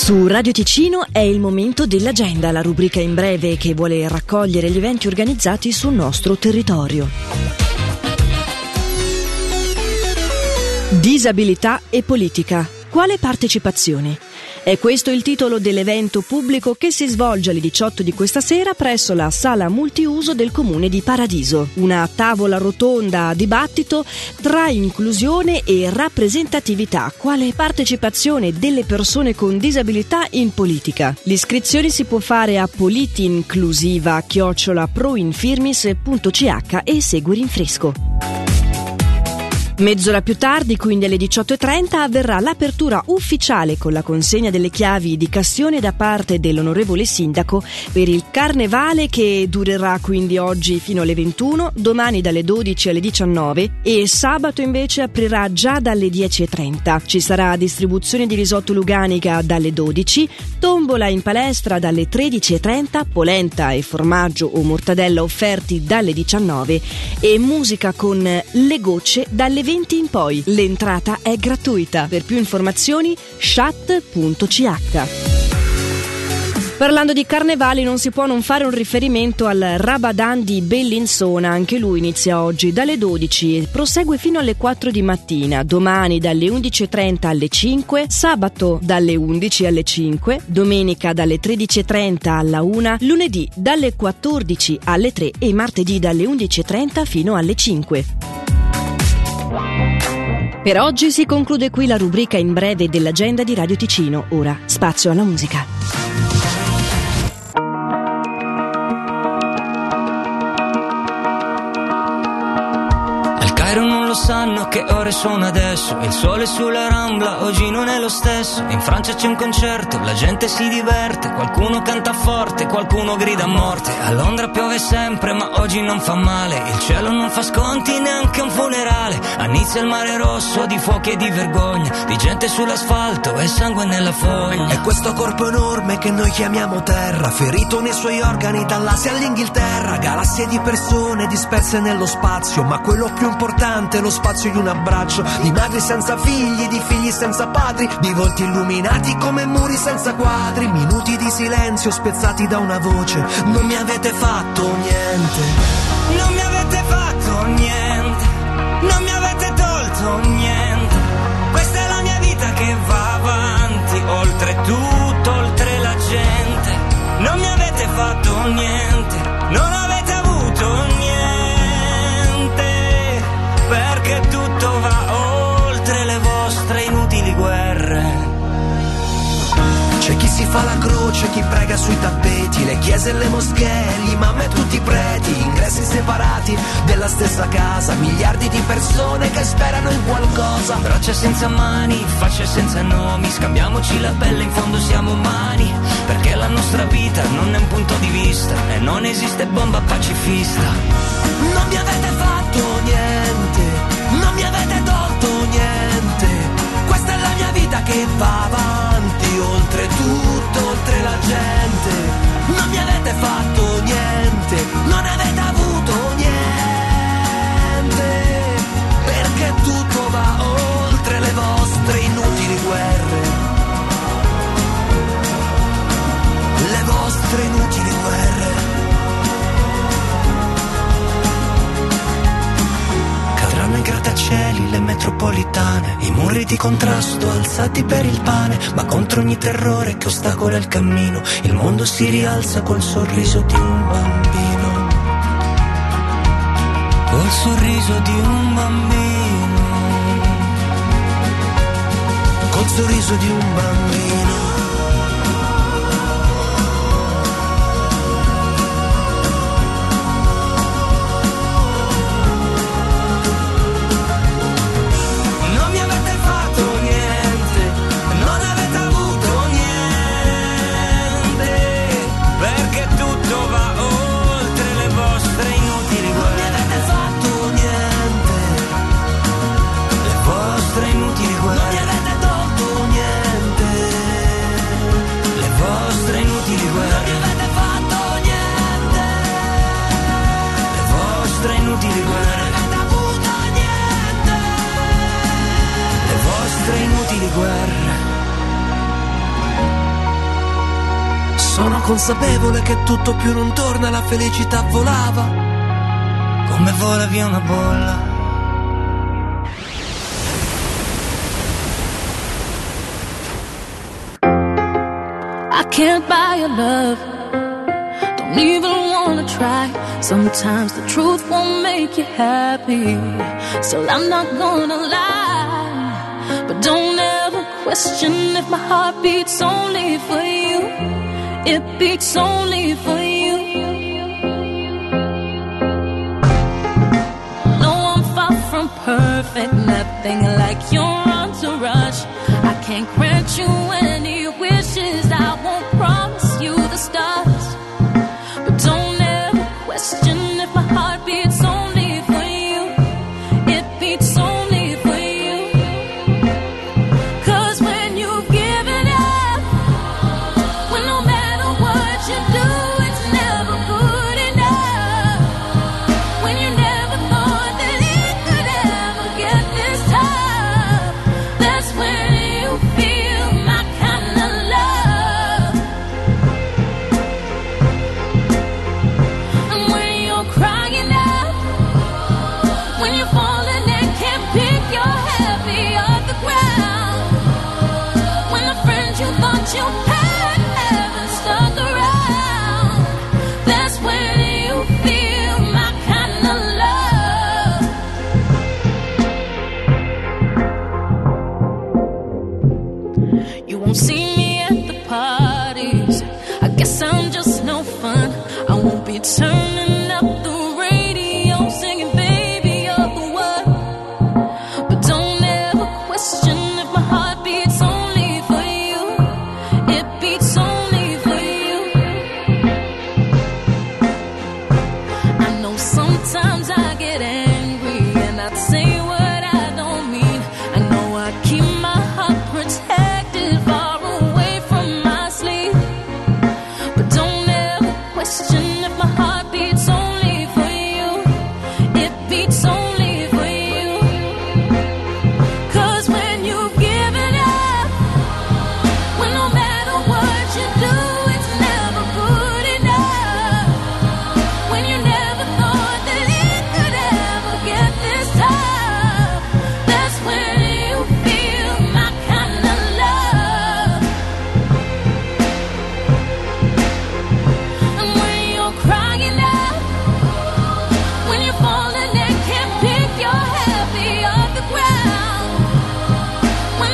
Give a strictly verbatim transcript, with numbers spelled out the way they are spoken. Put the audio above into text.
Su Radio Ticino è il momento dell'agenda, la rubrica in breve che vuole raccogliere gli eventi organizzati sul nostro territorio. Disabilità e politica. Quale partecipazione? È questo il titolo dell'evento pubblico che si svolge alle diciotto di questa sera presso la sala multiuso del Comune di Paradiso. Una tavola rotonda a dibattito tra inclusione e rappresentatività, quale partecipazione delle persone con disabilità in politica. L'iscrizione si può fare a politiinclusiva chiocciola proinfirmis punto c h e segui rinfresco. Mezz'ora più tardi, quindi alle diciotto e trenta, avverrà l'apertura ufficiale con la consegna delle chiavi di Castione da parte dell'onorevole sindaco per il carnevale, che durerà quindi oggi fino alle ventuno, domani dalle dodici alle diciannove e sabato invece aprirà già dalle dieci e trenta. Ci sarà distribuzione di risotto Luganica dalle dodici, tombola in palestra dalle tredici e trenta, polenta e formaggio o mortadella offerti dalle diciannove e musica con Le Gocce dalle venti in poi. L'entrata è gratuita. Per più informazioni chat punto c h. Parlando di carnevali non si può non fare un riferimento al Rabadan di Bellinzona. Anche lui inizia oggi dalle dodici e prosegue fino alle quattro di mattina, domani dalle undici e trenta alle cinque, sabato dalle undici alle cinque, domenica dalle tredici e trenta alla una, lunedì dalle quattordici alle tre e martedì dalle undici e trenta fino alle cinque. Per oggi si conclude qui la rubrica in breve dell'agenda di Radio Ticino. Ora spazio alla musica. Non lo sanno che ore sono adesso. Il sole sulla Rambla oggi non è lo stesso. In Francia c'è un concerto, la gente si diverte. Qualcuno canta forte, qualcuno grida a morte. A Londra piove sempre ma oggi non fa male. Il cielo non fa sconti neanche un funerale. A Nizza il mare rosso di fuochi e di vergogna, di gente sull'asfalto e sangue nella foglia. E questo corpo enorme che noi chiamiamo terra, ferito nei suoi organi dall'Asia all'Inghilterra. Galassie di persone disperse nello spazio, ma quello più importante lo spazio di un abbraccio, di madri senza figli, di figli senza padri, di volti illuminati come muri senza quadri, minuti di silenzio spezzati da una voce. Non mi avete fatto niente, non mi avete fatto niente, non mi avete tolto niente. Questa è la mia vita che va avanti, oltre tutto, oltre la gente. Non mi avete fatto niente, non avete avuto niente, perché tutto va oltre le vostre inutili guerre. C'è chi si fa la croce, chi prega sui tappeti, le chiese e le moschee, l'imam e tutti i preti, ingressi separati della stessa casa, miliardi di persone che sperano in qualcosa. Braccia senza mani, facce senza nomi, scambiamoci la pelle, in fondo siamo umani, perché la nostra vita non è un punto di vista e non esiste bomba pacifista. Non mi avete fatto niente, non mi avete tolto niente, questa è la mia vita che va avanti, oltre tutto, oltre la gente. Non mi avete fatto niente, non avete avuto niente, perché tutto va oltre le vostre inutili guerre, le vostre inutili guerre. Cadranno i grattacieli, le metropolitane, i muri di contrasto alzati per il pane, ma contro ogni terrore che ostacola il cammino, il mondo si rialza col sorriso di un bambino, col sorriso di un bambino, col sorriso di un bambino. guerre. Sono consapevole che tutto più non torna, la felicità volava come vola via una bolla. I can't buy your love, don't even wanna try. Sometimes the truth won't make you happy, so I'm not gonna lie. But don't ever question if my heart beats only for you. It beats only for you. No, I'm far from perfect, nothing like your entourage. I can't grant you any wishes, I won't promise you the stars. But don't ever question if my heart beats only for you. It beats only for you. Cause when you've given up, when no matter what you do, it's never good enough. When you never thought that it could ever get this tough, that's when you feel my kind of love. And when you're crying out, when you're falling and can't pick your happy off the ground, when the friends you thought you had haven't stuck around, that's when you feel my kind of love. You won't see me at the parties, I guess I'm just no fun. I won't be turning up the radio singing baby you're the one. But don't ever question if my heart beats only for you. It beats only for you. I know sometimes I get angry and I say what I don't mean. I know I keep